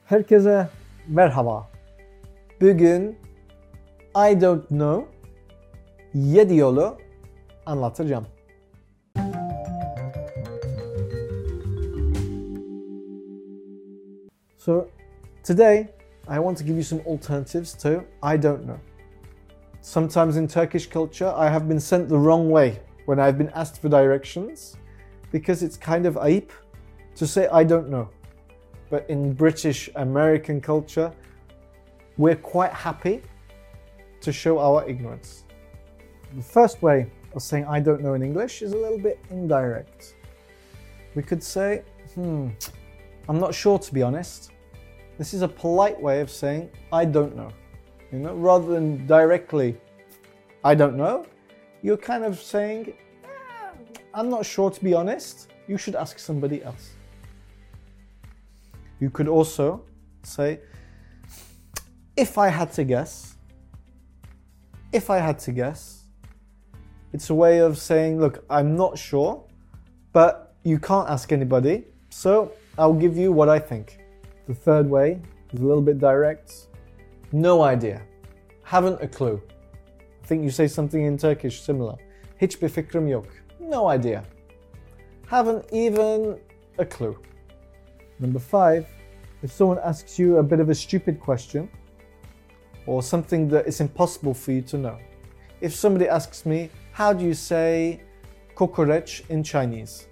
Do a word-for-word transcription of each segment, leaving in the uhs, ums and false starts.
Herkese merhaba. Bugün I don't know yedi yolu anlatacağım. So today I want to give you some alternatives to I don't know. Sometimes in Turkish culture I have been sent the wrong way when I've been asked for directions because it's kind of ayıp to say I don't know. But in British American culture, we're quite happy to show our ignorance. The first way of saying I don't know in English is a little bit indirect. We could say, hmm, I'm not sure to be honest. This is a polite way of saying I don't know. You know, rather than directly I don't know, you're kind of saying, eh, I'm not sure to be honest. You should ask somebody else. You could also say, if I had to guess, if I had to guess, it's a way of saying, look, I'm not sure, but you can't ask anybody, so I'll give you what I think. The third way is a little bit direct. No idea. Haven't a clue. I think you say something in Turkish similar. Hiçbir fikrim yok. No idea. Haven't even a clue. Number five, if someone asks you a bit of a stupid question or something that is impossible for you to know. If somebody asks me, how do you say kokoreç in Chinese?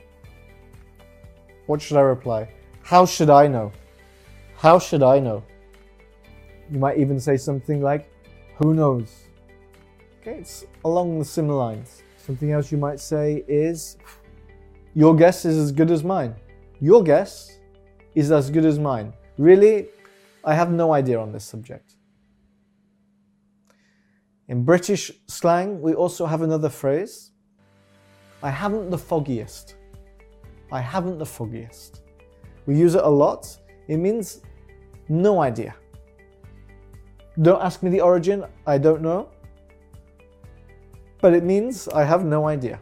What should I reply? How should I know? How should I know? You might even say something like, who knows? Okay, it's along the similar lines. Something else you might say is, your guess is as good as mine. Your guess is as good as mine. Really, I have no idea on this subject. In British slang, we also have another phrase. I haven't the foggiest. I haven't the foggiest. We use it a lot. It means no idea. Don't ask me the origin, I don't know. But it means I have no idea.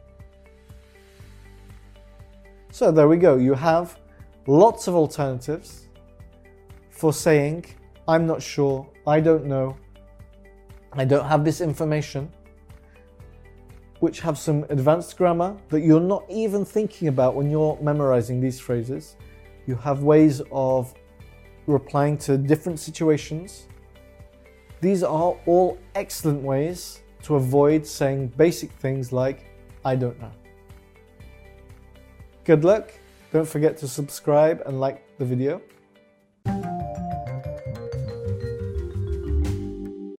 So there we go. You have lots of alternatives for saying, I'm not sure, I don't know, I don't have this information, which have some advanced grammar that you're not even thinking about when you're memorizing these phrases. You have ways of replying to different situations. These are all excellent ways to avoid saying basic things like, I don't know. Good luck. Don't forget to subscribe and like the video.